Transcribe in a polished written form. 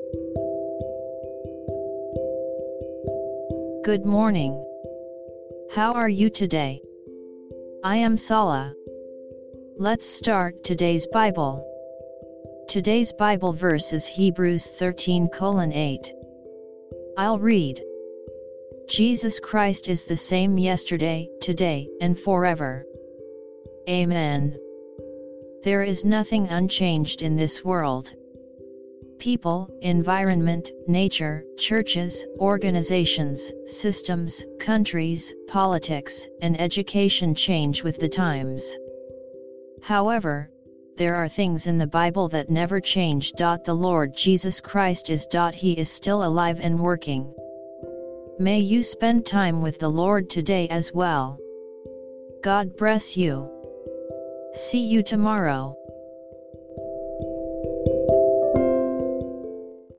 Good morning. How are you today? I am Sala. Let's start today's Bible. Today's Bible verse is Hebrews 13:8. I'll read. Jesus Christ is the same yesterday, today, and forever. Amen. There is nothing unchanged in this world. People, environment, nature, churches, organizations, systems, countries, politics, and education change with the times. However, there are things in the Bible that never change. The Lord Jesus Christ is. He is still alive and working. May you spend time with the Lord today as well. God bless you. See you tomorrow.